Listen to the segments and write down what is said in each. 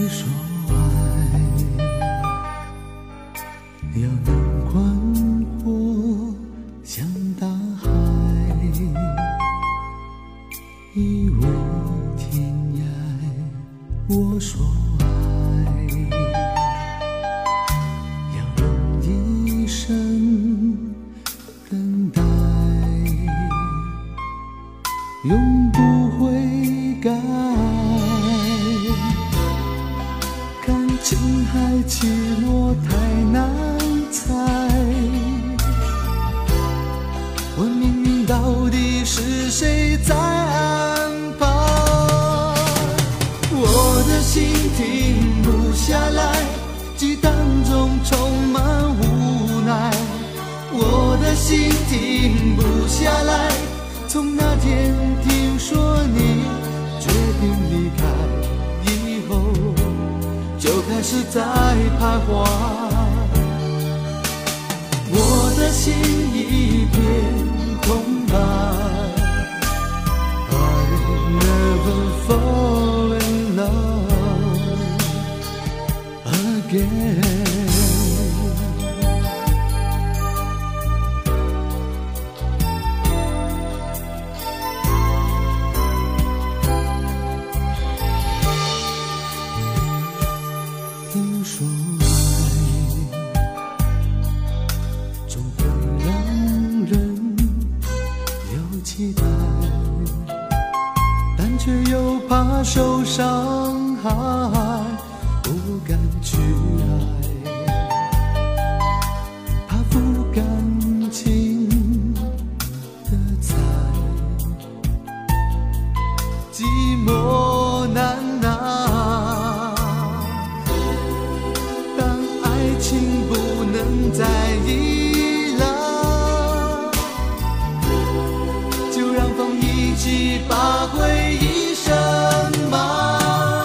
说爱要能宽阔像大海，以为天涯。我说爱要用一生等待，永不悔改。看情海起落太难猜，问命运到底是谁在安排？我的心停不下来，激荡中充满无奈。我的心停不下来，从那天听说你决定离开以后，就开始在徘徊。我的心一片空白， I never fall in love again。听说爱总会让人有期待，但却又怕受伤害，不敢去爱，怕负感情的债，寂寞难拿。当爱情不能再依赖，就让风一起把回忆深埋。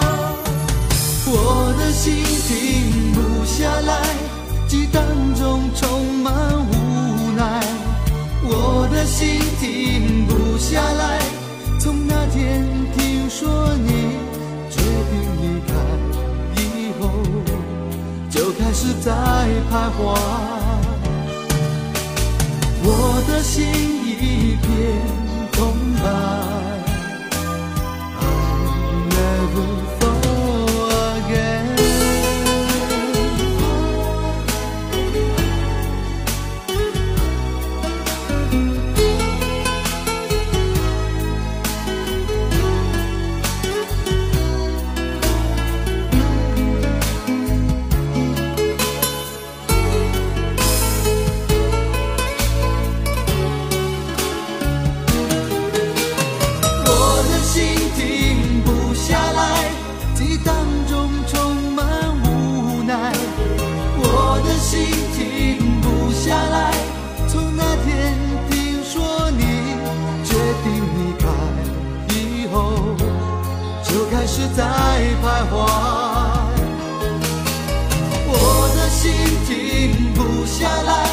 我的心停不下来，激荡中充满无奈。我的心停不下来，从那天听说你决定离开以后，就开始在徘徊。我的心一片空白， I never fall again。 我的心停不下来，激荡中充满无奈。我的心停不下来，从那天听说你决定离开以后，就开始在徘徊。我的心停不下来，